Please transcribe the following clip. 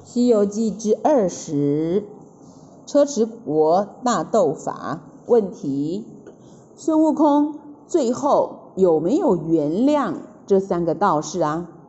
西遊記之20，車遲國大鬥法。問題：孫悟空最後有沒有原諒這3個道士啊？